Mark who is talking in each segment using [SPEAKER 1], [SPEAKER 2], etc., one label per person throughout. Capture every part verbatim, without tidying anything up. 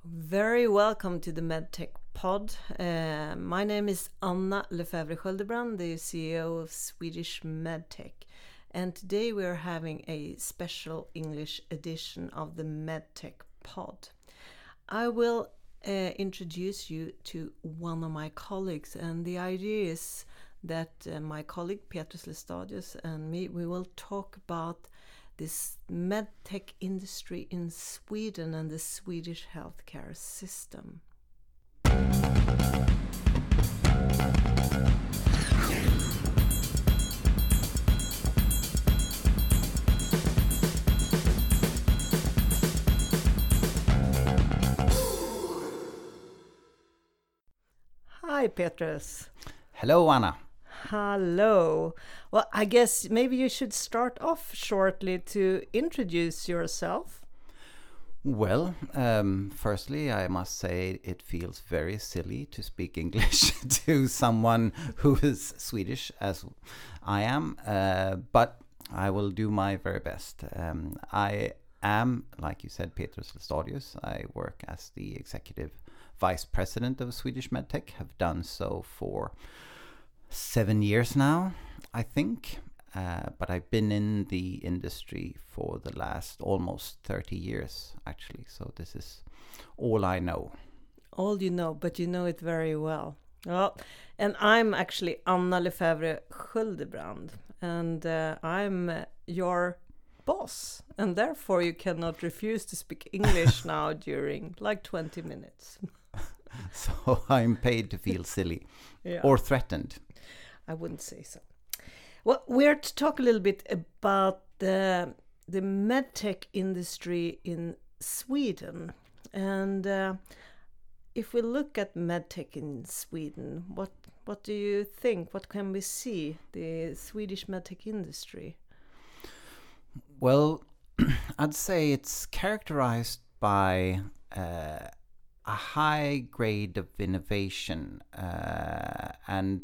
[SPEAKER 1] Very welcome to the MedTech Pod. Uh, my name is Anna Lefebvre Sköldebrand, the C E O of Swedish MedTech. And today we are having a special English edition of the MedTech Pod. I will uh, introduce you to one of my colleagues, and the idea is that uh, my colleague Petrus Lestadius and me, we will talk about this medtech industry in Sweden and the Swedish healthcare system. Hi, Petrus.
[SPEAKER 2] Hello, Anna.
[SPEAKER 1] Hello. Well, I guess maybe you should start off shortly to introduce yourself.
[SPEAKER 2] Well, um, firstly, I must say it feels very silly to speak English to someone who is Swedish, as I am, uh, but I will do my very best. Um, I am, like you said, Petrus Lestadius. I work as the Executive Vice President of Swedish MedTech, have done so for seven years now, I think, uh, but I've been in the industry for the last almost thirty years, actually, so this is all I know.
[SPEAKER 1] All you know, but you know it very well. Well, and I'm actually Anna Lefebvre Sköldebrand, and uh, I'm uh, your boss, and therefore you cannot refuse to speak English now during like twenty minutes.
[SPEAKER 2] So I'm paid to feel silly yeah. or threatened.
[SPEAKER 1] I wouldn't say so. Well, we're to talk a little bit about the the medtech industry in Sweden, and uh, if we look at medtech in Sweden, what what do you think? What can we see the Swedish medtech industry?
[SPEAKER 2] Well, I'd say it's characterized by uh, a high grade of innovation, uh, and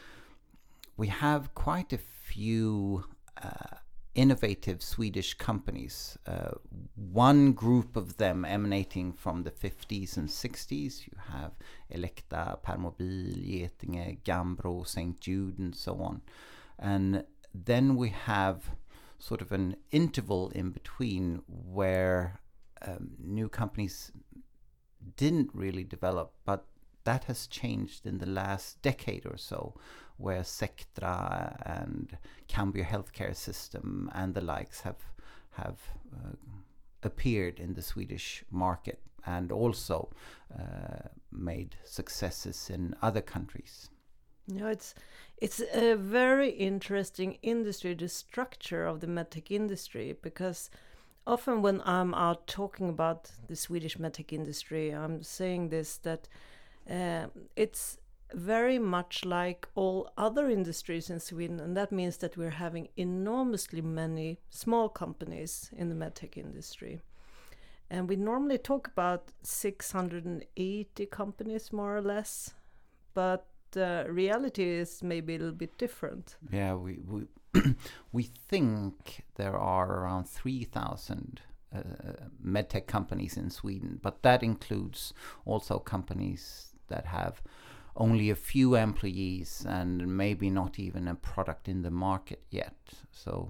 [SPEAKER 2] we have quite a few uh, innovative Swedish companies. Uh, one group of them emanating from the fifties and sixties. You have Elekta, Permobil, Getinge, Gambro, Saint Jude, and so on. And then we have sort of an interval in between where um, new companies didn't really develop, but that has changed in the last decade or so, where Sectra and Cambio Healthcare System and the likes have have uh, appeared in the Swedish market and also uh, made successes in other countries.
[SPEAKER 1] You know, it's it's a very interesting industry, the structure of the medtech industry, because often when I'm out talking about the Swedish medtech industry, I'm saying this, that uh, it's very much like all other industries in Sweden, and that means that we're having enormously many small companies in the medtech industry. And we normally talk about six hundred eighty companies, more or less, but the reality is maybe a little bit different.
[SPEAKER 2] Yeah, we we we think there are around three thousand uh, medtech companies in Sweden, but that includes also companies that have only a few employees and maybe not even a product in the market yet. So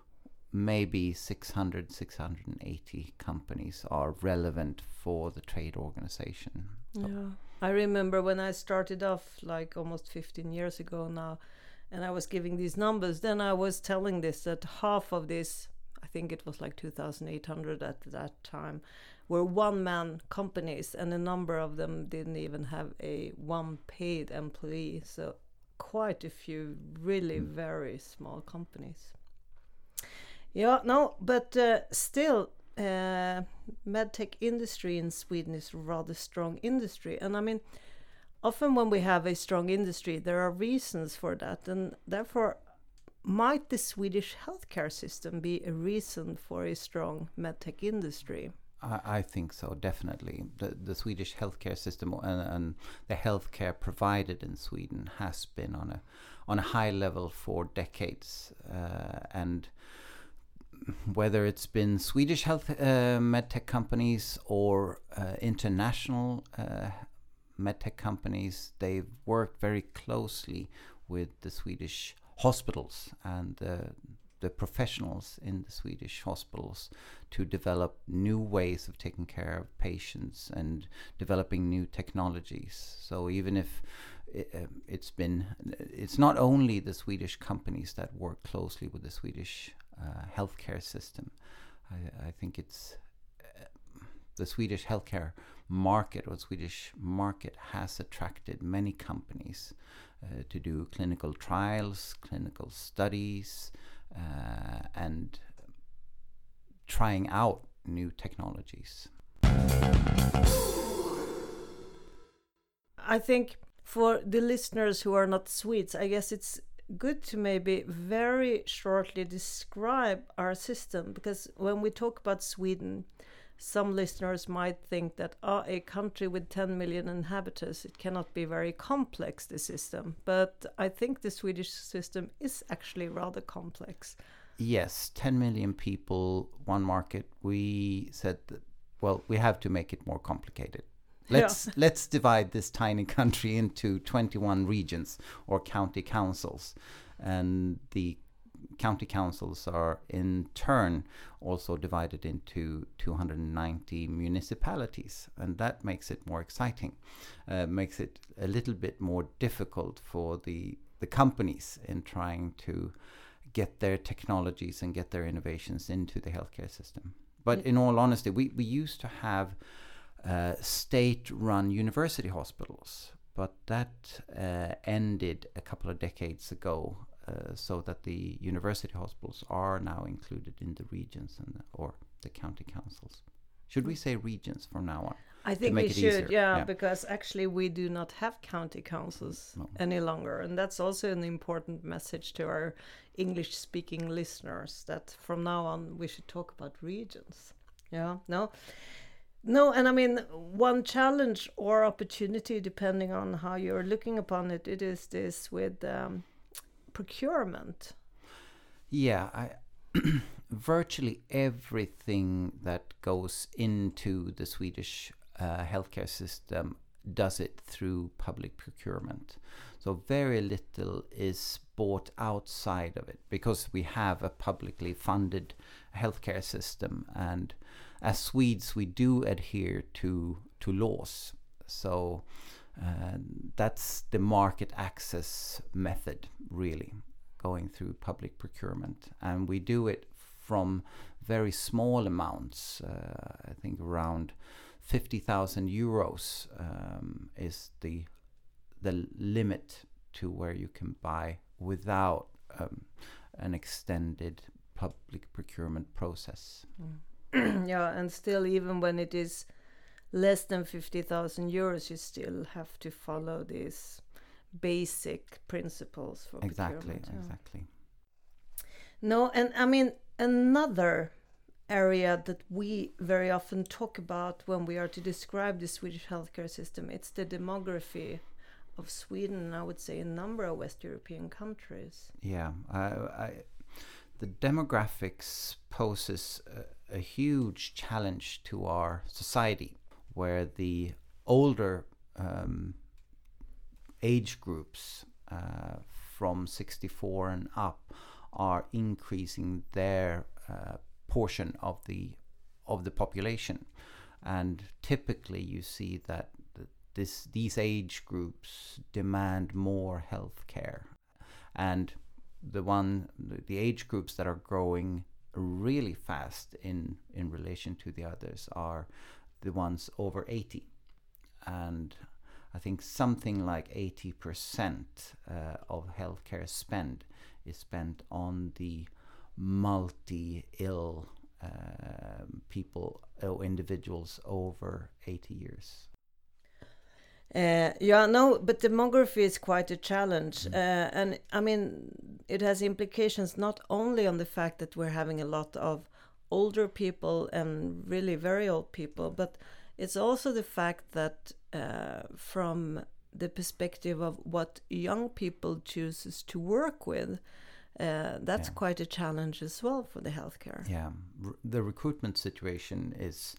[SPEAKER 2] maybe six hundred, six hundred eighty companies are relevant for the trade organization. So.
[SPEAKER 1] Yeah, I remember when I started off like almost fifteen years ago now, and I was giving these numbers, then I was telling this, that half of this, I think it was like two thousand eight hundred at that time, were one-man companies, and a number of them didn't even have a one paid employee. So quite a few really mm. very small companies. Yeah, no, but uh, still, uh, medtech industry in Sweden is a rather strong industry. And I mean, often when we have a strong industry, there are reasons for that. And therefore, might the Swedish healthcare system be a reason for a strong medtech industry?
[SPEAKER 2] I, I think so, definitely. The, the Swedish healthcare system and, and the healthcare provided in Sweden has been on a on a high level for decades, uh, and whether it's been Swedish health uh, medtech companies or uh, international uh, medtech companies, they've worked very closely with the Swedish hospitals and uh, the professionals in the Swedish hospitals to develop new ways of taking care of patients and developing new technologies. So even if it, uh, it's been, it's not only the Swedish companies that work closely with the Swedish uh, healthcare system. I, I think it's uh, the Swedish healthcare market or Swedish market has attracted many companies uh, to do clinical trials, clinical studies, uh, and trying out new technologies.
[SPEAKER 1] I think for the listeners who are not Swedes, I guess it's good to maybe very shortly describe our system, because when we talk about Sweden, some listeners might think that oh, a country with ten million inhabitants, it cannot be very complex, the system. But I think the Swedish system is actually rather complex.
[SPEAKER 2] Yes, ten million people, one market. We said that, well, we have to make it more complicated. Let's yeah. let's divide this tiny country into twenty-one regions or county councils, and the county councils are in turn also divided into two hundred ninety municipalities, and that makes it more exciting, uh, makes it a little bit more difficult for the the companies in trying to get their technologies and get their innovations into the healthcare system. But in all honesty, we, we used to have uh, state-run university hospitals, but that uh, ended a couple of decades ago, uh, so that the university hospitals are now included in the regions and or the county councils. Should we say regions from now on?
[SPEAKER 1] I think we should, yeah, yeah, because actually we do not have county councils no. any longer. And that's also an important message to our English-speaking listeners, that from now on we should talk about regions. Yeah, no? No, and I mean, one challenge or opportunity, depending on how you're looking upon it, it is this with um, procurement.
[SPEAKER 2] Yeah, I... virtually everything that goes into the Swedish uh, healthcare system does it through public procurement. So very little is bought outside of it, because we have a publicly funded healthcare system, and as Swedes we do adhere to to laws. So uh, that's the market access method, really, going through public procurement, and we do it from very small amounts. Uh, I think around fifty thousand euros um, is the the limit to where you can buy without um, an extended public procurement process.
[SPEAKER 1] Mm. Yeah, and still, even when it is less than fifty thousand euros, you still have to follow these basic principles for
[SPEAKER 2] exactly,
[SPEAKER 1] procurement.
[SPEAKER 2] Exactly, exactly.
[SPEAKER 1] No, and I mean, another area that we very often talk about when we are to describe the Swedish healthcare system, it's the demography of Sweden, and I would say a number of West European countries.
[SPEAKER 2] Yeah, I, I, the demographics poses a, a huge challenge to our society, where the older um, age groups uh, from sixty-four and up are increasing their uh, portion of the of the population, and typically you see that this these age groups demand more health care, and the one the age groups that are growing really fast in in relation to the others are the ones over eighty, and I think something like eighty percent uh, of healthcare spend is spent on the multi-ill uh, people or individuals over eighty years.
[SPEAKER 1] Uh, yeah, no, but demography is quite a challenge. Mm. Uh, and I mean, it has implications not only on the fact that we're having a lot of older people and really very old people, but it's also the fact that uh, from the perspective of what young people chooses to work with, uh, that's
[SPEAKER 2] Yeah.
[SPEAKER 1] quite a challenge as well for the healthcare.
[SPEAKER 2] Yeah, R- the recruitment situation is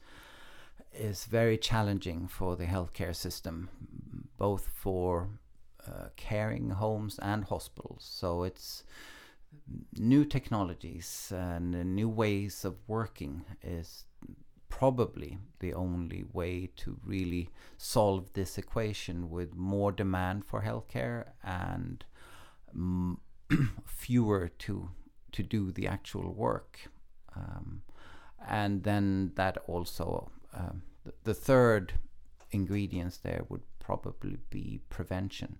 [SPEAKER 2] is very challenging for the healthcare system, both for uh, caring homes and hospitals. So it's new technologies and uh, new ways of working is probably the only way to really solve this equation, with more demand for healthcare and mm, fewer to to do the actual work. Um, and then that also um, th- the third ingredients there would probably be prevention.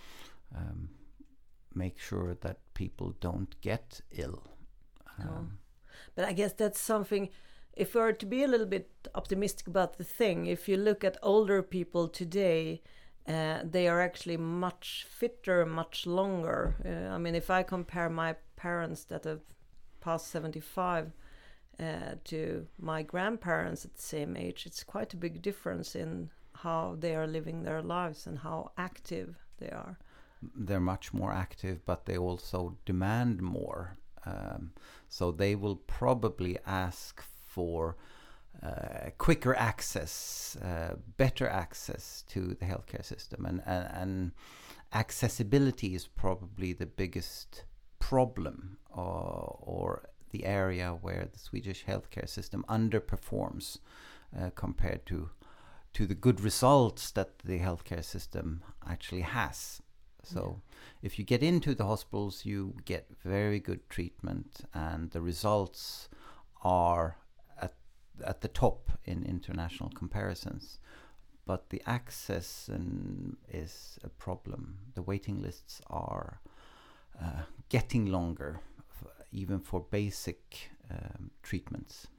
[SPEAKER 2] Um, make sure that people don't get ill. Um,
[SPEAKER 1] Oh. But I guess that's something, if we are to be a little bit optimistic about the thing, if you look at older people today, uh, they are actually much fitter, much longer. Uh, I mean, if I compare my parents that have passed seventy-five uh, to my grandparents at the same age, it's quite a big difference in how they are living their lives and how active they are.
[SPEAKER 2] they're much more active, but they also demand more. Um, so they will probably ask for uh, quicker access, uh, better access to the healthcare system, and, and and accessibility is probably the biggest problem, or, or the area where the Swedish healthcare system underperforms uh, compared to to the good results that the healthcare system actually has. So yeah. If you get into the hospitals, you get very good treatment, and the results are at at the top in international comparisons. But the access and is a problem. The waiting lists are uh, getting longer, f- even for basic um, treatments.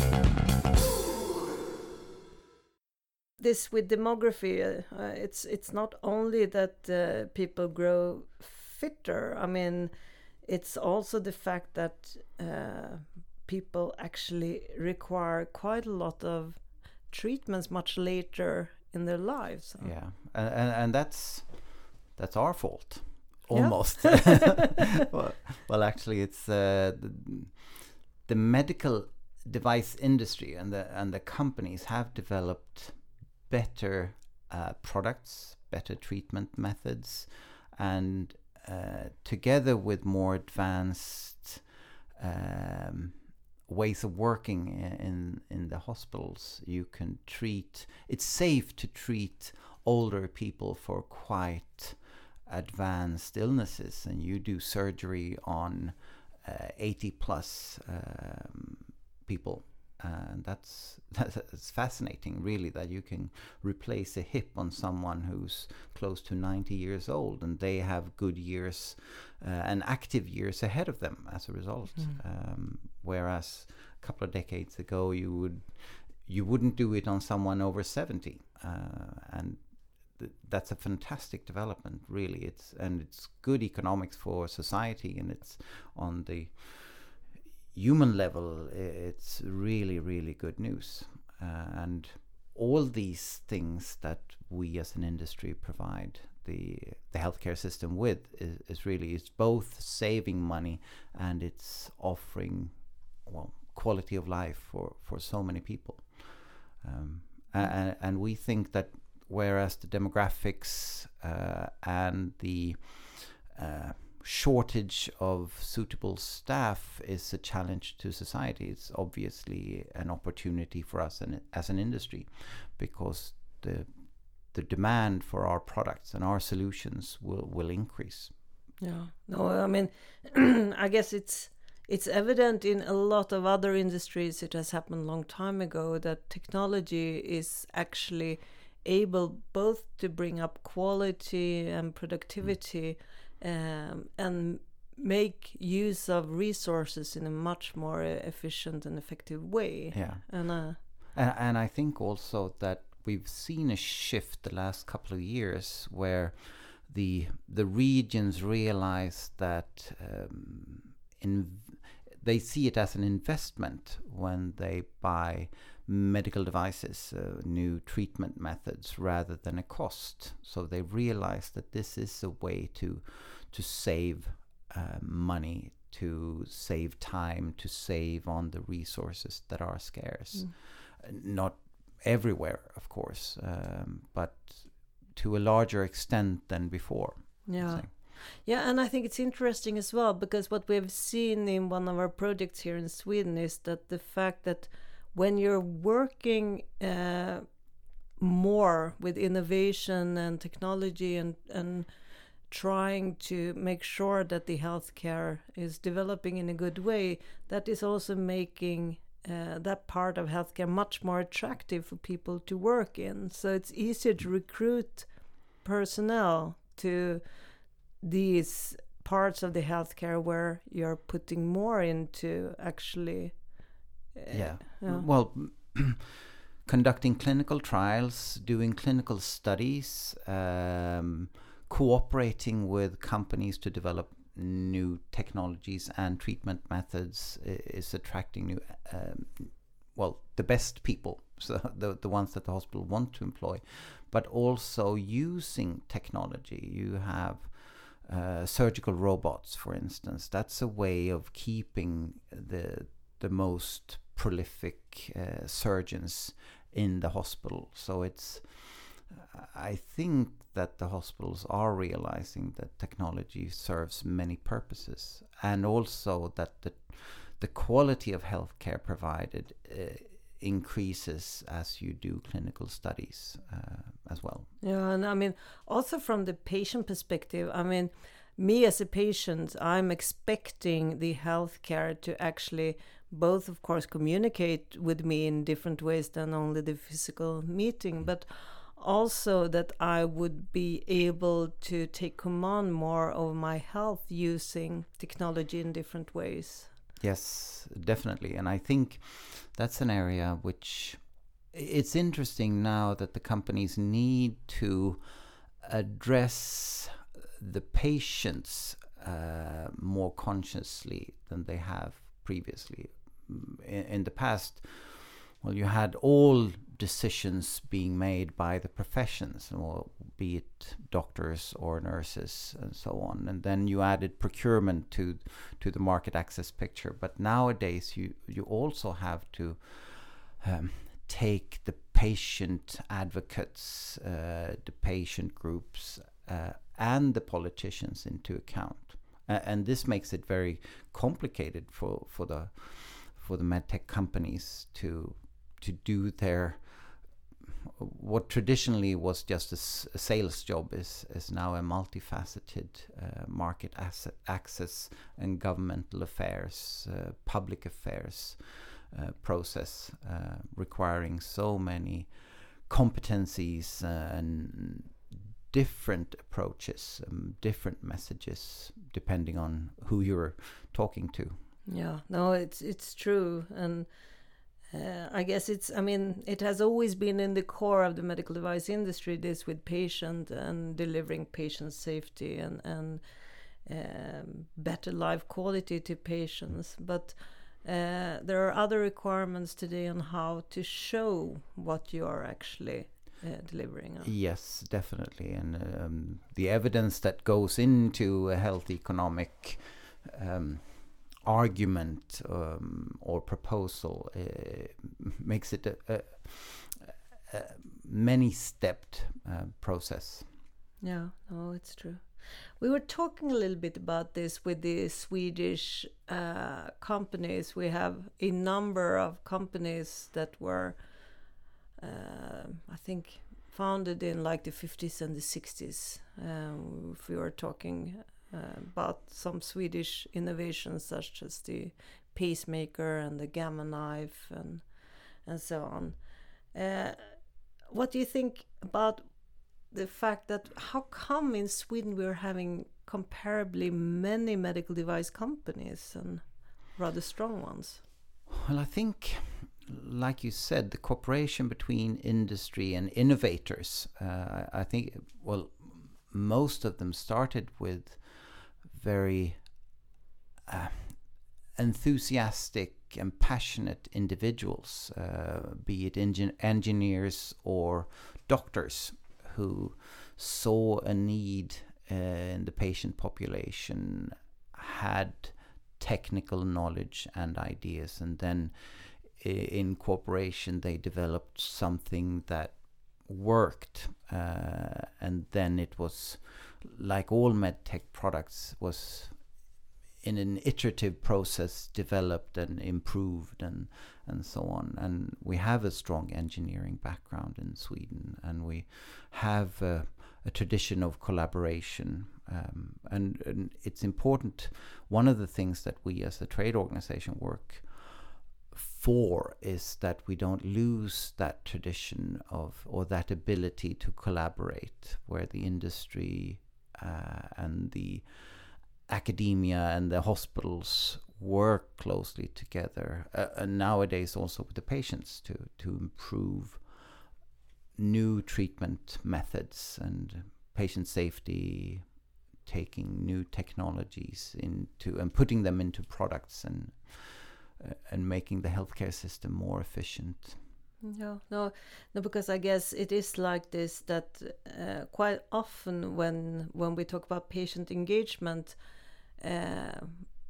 [SPEAKER 1] This with demography, uh, it's it's not only that uh, people grow fitter. I mean, it's also the fact that uh, people actually require quite a lot of treatments much later in their lives. So.
[SPEAKER 2] Yeah, and, and and that's that's our fault,
[SPEAKER 1] Yeah.
[SPEAKER 2] almost. well, well, actually, it's uh, the, the medical device industry and the and the companies have developed better uh, products, better treatment methods, and uh, together with more advanced um, ways of working in in the hospitals, you can treat. It's safe to treat older people for quite advanced illnesses, and you do surgery on uh, eighty plus um, people. And that's that's fascinating, really, that you can replace a hip on someone who's close to ninety years old, and they have good years uh, and active years ahead of them as a result. Mm. Um, whereas a couple of decades ago, you would you wouldn't do it on someone over seventy, uh, and th- that's a fantastic development, really. It's and it's good economics for society, and it's on the human level, it's really, really good news. Uh, and all these things that we as an industry provide the the healthcare system with is, is really, it's both saving money and it's offering, well, quality of life for, for so many people. Um, and, and we think that whereas the demographics uh, and the uh, shortage of suitable staff is a challenge to society, it's obviously an opportunity for us and as an industry, because the the demand for our products and our solutions will will increase.
[SPEAKER 1] Yeah, no, I mean, I guess it's it's evident in a lot of other industries. It has happened a long time ago that technology is actually able both to bring up quality and productivity. Mm. Um, and make use of resources in a much more efficient and effective way.
[SPEAKER 2] Yeah,
[SPEAKER 1] and uh,
[SPEAKER 2] and, and I think also that we've seen a shift the last couple of years where the the regions realize that um, in they see it as an investment when they buy medical devices, uh, new treatment methods, rather than a cost. So they realize that this is a way to to save uh, money to save time, to save on the resources that are scarce. Mm. Not everywhere, of course, um, but to a larger extent than before.
[SPEAKER 1] Yeah. Yeah, and I think it's interesting as well, because what we've seen in one of our projects here in Sweden is that the fact that when you're working uh, more with innovation and technology and, and trying to make sure that the healthcare is developing in a good way, that is also making uh, that part of healthcare much more attractive for people to work in. So it's easier to recruit personnel to these parts of the healthcare where you're putting more into actually uh,
[SPEAKER 2] yeah.
[SPEAKER 1] yeah
[SPEAKER 2] Well, conducting clinical trials, doing clinical studies, um, cooperating with companies to develop new technologies and treatment methods is attracting new um, well the best people, so the the ones that the hospital want to employ, but also using technology. You have Uh, surgical robots, for instance. That's a way of keeping the the most prolific uh, surgeons in the hospital. So it's, uh, I think that the hospitals are realizing that technology serves many purposes, and also that the the quality of healthcare provided uh, increases as you do clinical studies uh, as well.
[SPEAKER 1] Yeah, and I mean, also from the patient perspective, I mean, me as a patient, I'm expecting the healthcare to actually both, of course, communicate with me in different ways than only the physical meeting, but also that I would be able to take command more of my health using technology in different ways.
[SPEAKER 2] Yes, definitely. And I think that's an area which it's interesting now that the companies need to address the patients uh, more consciously than they have previously. In, in the past, well, you had all decisions being made by the professions, or be it doctors or nurses and so on. And then you added procurement to to the market access picture. But nowadays, you, you also have to um, take the patient advocates, uh, the patient groups, uh, and the politicians into account. Uh, and this makes it very complicated for, for the for the medtech companies to to do their what traditionally was just a, s- a sales job is is now a multifaceted uh, market asset access and governmental affairs, uh, public affairs uh, process, uh, requiring so many competencies uh, and different approaches, um, different messages, depending on who you're talking to.
[SPEAKER 1] Yeah, no, it's it's true, and uh, I guess it's. I mean, it has always been in the core of the medical device industry. This with patient and delivering patient safety and and um, better life quality to patients, but. Uh, there are other requirements today on how to show what you are actually uh, delivering on.
[SPEAKER 2] Yes, definitely. And um, the evidence that goes into a health economic um, argument um, or proposal uh, makes it a, a, a many-stepped uh, process.
[SPEAKER 1] Yeah, no, it's true. We were talking a little bit about this with the Swedish uh, companies. We have a number of companies that were, uh, I think, founded in like the fifties and the sixties. Um, if we were talking uh, about some Swedish innovations such as the pacemaker and the gamma knife and and so on. Uh, what do you think about the fact that how come in Sweden we're having comparably many medical device companies and rather strong ones?
[SPEAKER 2] Well, I think, like you said, the cooperation between industry and innovators, uh, I think, well, most of them started with very uh, enthusiastic and passionate individuals, uh, be it engin- engineers or doctors, who saw a need uh, in the patient population, had technical knowledge and ideas, and then in cooperation they developed something that worked, uh, and then it was, like all medtech products, was in an iterative process developed and improved and and so on. And we have a strong engineering background in Sweden, and we have a, a tradition of collaboration, um, and, and it's important. One of the things that we as a trade organization work for is that we don't lose that tradition of, or that ability to collaborate, where the industry uh, and the academia and the hospitals work closely together, uh, and nowadays also with the patients to to improve new treatment methods and patient safety, taking new technologies into and putting them into products, and uh, and making the healthcare system more efficient.
[SPEAKER 1] No, no, no, because I guess it is like this, that uh, quite often when when we talk about patient engagement, uh,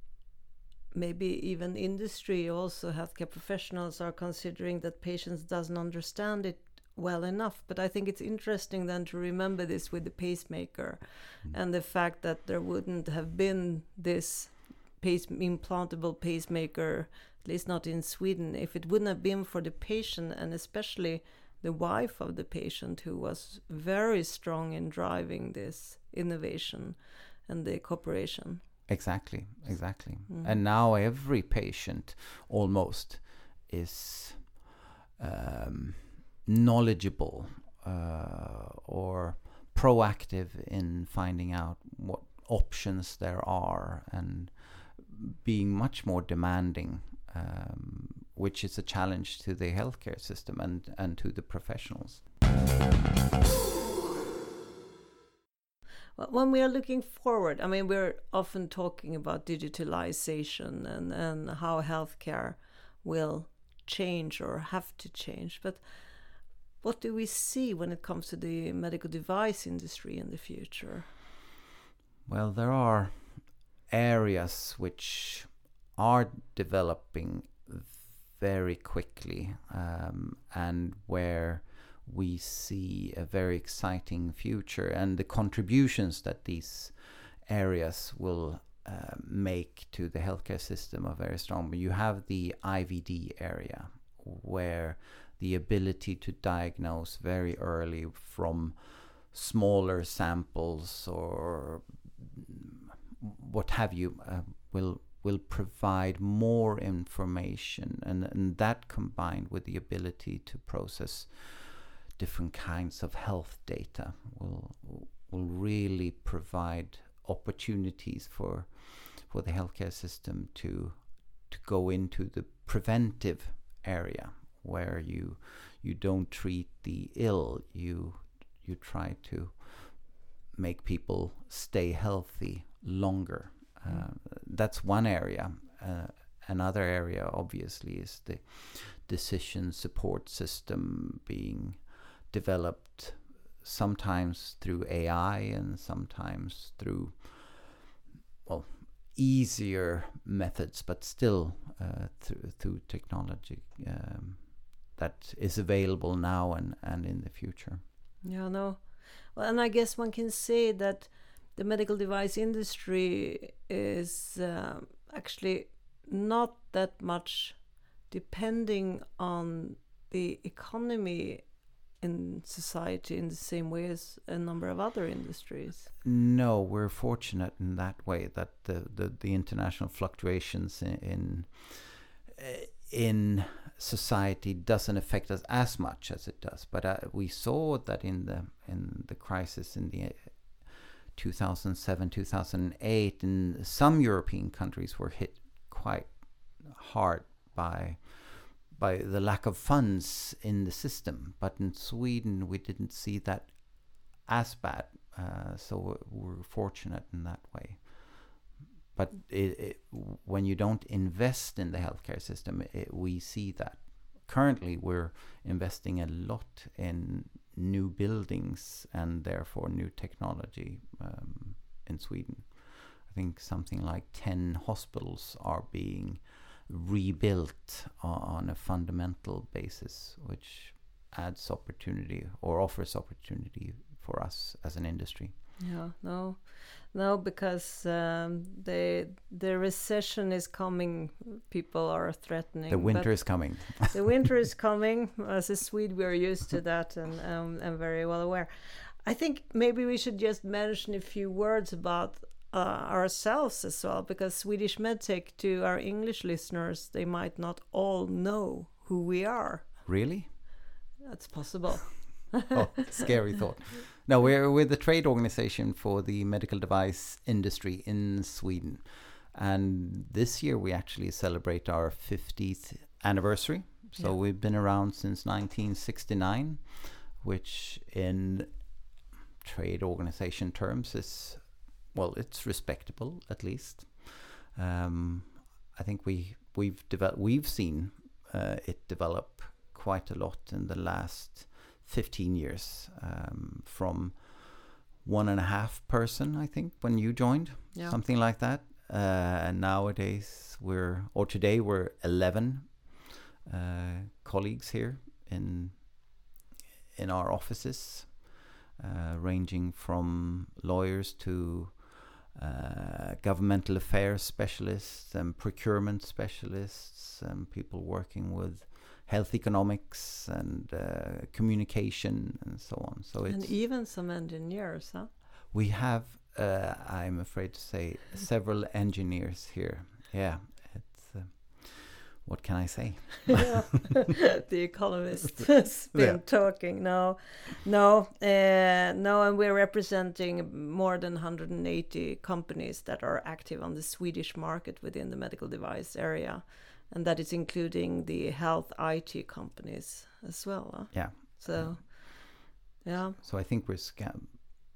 [SPEAKER 1] maybe even industry, also healthcare professionals are considering that patients doesn't understand it well enough. But I think it's interesting then to remember this with the pacemaker, mm. and the fact that there wouldn't have been this pace implantable pacemaker, at least not in Sweden, if it wouldn't have been for the patient, and especially the wife of the patient, who was very strong in driving this innovation and the cooperation.
[SPEAKER 2] Exactly, exactly.
[SPEAKER 1] Mm.
[SPEAKER 2] And now every patient almost is um, knowledgeable uh, or proactive in finding out what options there are, and being much more demanding, um, which is a challenge to the healthcare system and, and to the professionals.
[SPEAKER 1] When we are looking forward, I mean, we're often talking about digitalization and, and how healthcare will change or have to change. But what do we see when it comes to the medical device industry in the future?
[SPEAKER 2] Well, there are areas which are developing very quickly, um, and where we see a very exciting future, and the contributions that these areas will uh, make to the healthcare system are very strong. But you have the I V D area, where the ability to diagnose very early from smaller samples or what have you uh, will will provide more information, and, and that combined with the ability to process different kinds of health data will will really provide opportunities for for the healthcare system to to go into the preventive area, where you you don't treat the ill, you you try to make people stay healthy longer. Uh, that's one area. Uh, another area, obviously, is the decision support system being developed, sometimes through A I and sometimes through, well, easier methods, but still uh, through, through technology um, that is available now and, and in the future.
[SPEAKER 1] Yeah, no. Well, and I guess one can say that the medical device industry is uh, actually not that much depending on the economy in society in the same way as a number of other industries.
[SPEAKER 2] No, we're fortunate in that way, that the, the, the international fluctuations in, in in society doesn't affect us as much as it does. But uh, we saw that in the in the crisis in the two thousand seven, two thousand eight, and some European countries were hit quite hard by by the lack of funds in the system. But in Sweden, we didn't see that as bad. Uh, so we're fortunate in that way. But it, it, when you don't invest in the healthcare system, it, we see that. Currently, we're investing a lot in new buildings and therefore new technology um, in Sweden. I I think something like ten hospitals are being rebuilt on a fundamental basis, which adds opportunity or offers opportunity for us as an industry.
[SPEAKER 1] Yeah, no, no, because um, the the recession is coming. People are threatening.
[SPEAKER 2] The winter is coming.
[SPEAKER 1] The winter is coming. As a Swede, we are used to that, and um, I'm very well aware. I think maybe we should just mention a few words about uh, ourselves as well, because Swedish Medtech, to our English listeners, they might not all know who we are.
[SPEAKER 2] Really?
[SPEAKER 1] That's possible.
[SPEAKER 2] Oh, scary thought. No, we're we're the trade organization for the medical device industry in Sweden, and this year we actually celebrate our fiftieth anniversary. So yeah. We've been around since nineteen sixty-nine, which in trade organization terms is, well, it's respectable at least. Um, I think we we've developed we've seen uh, it develop quite a lot in the last fifteen years, um, from one and a half person, I think, when you joined, yeah. something like that. Uh, and nowadays we're, or today we're eleven uh, colleagues here in in our offices, uh, ranging from lawyers to uh, governmental affairs specialists and procurement specialists and people working with health economics and uh, communication and so on. So it's,
[SPEAKER 1] and even some engineers, huh?
[SPEAKER 2] We have, uh, I'm afraid to say, several engineers here. Yeah, it's, uh, what can I say?
[SPEAKER 1] The Economist has been yeah. talking. No, no, uh, no, and we're representing more than one hundred eighty companies that are active on the Swedish market within the medical device area. And that is including the health I T companies as well. Huh?
[SPEAKER 2] Yeah.
[SPEAKER 1] So, yeah.
[SPEAKER 2] So I think we're sca-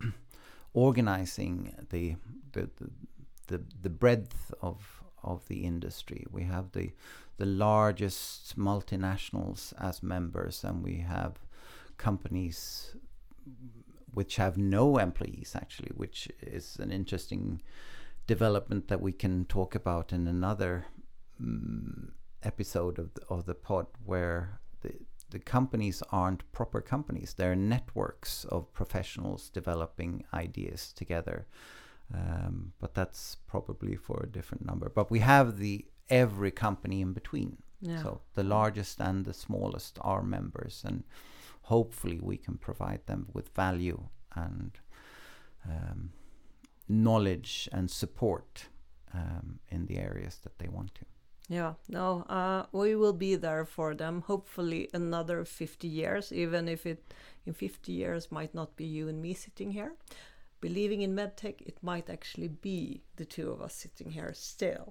[SPEAKER 2] organizing the, the the the the breadth of of the industry. We have the the largest multinationals as members, and we have companies which have no employees actually, which is an interesting development that we can talk about in another Um, episode of the, of the pod, where the the companies aren't proper companies. They're networks of professionals developing ideas together. Um, but that's probably for a different number. But we have the every company in between. Yeah. So the largest and the smallest are members, and hopefully we can provide them with value and um, knowledge and support um, in the areas that they want to.
[SPEAKER 1] Yeah, no, uh, we will be there for them, hopefully another fifty years, even if it in fifty years might not be you and me sitting here. Believing in medtech, it might actually be the two of us sitting here still.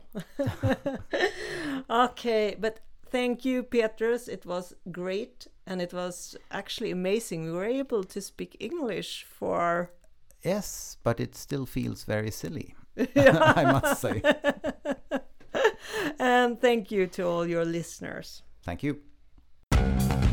[SPEAKER 1] Okay, but thank you, Petrus. It was great, and it was actually amazing. We were able to speak English for...
[SPEAKER 2] Yes, but it still feels very silly,
[SPEAKER 1] Yeah.
[SPEAKER 2] I must say.
[SPEAKER 1] And thank you to all your listeners.
[SPEAKER 2] Thank you.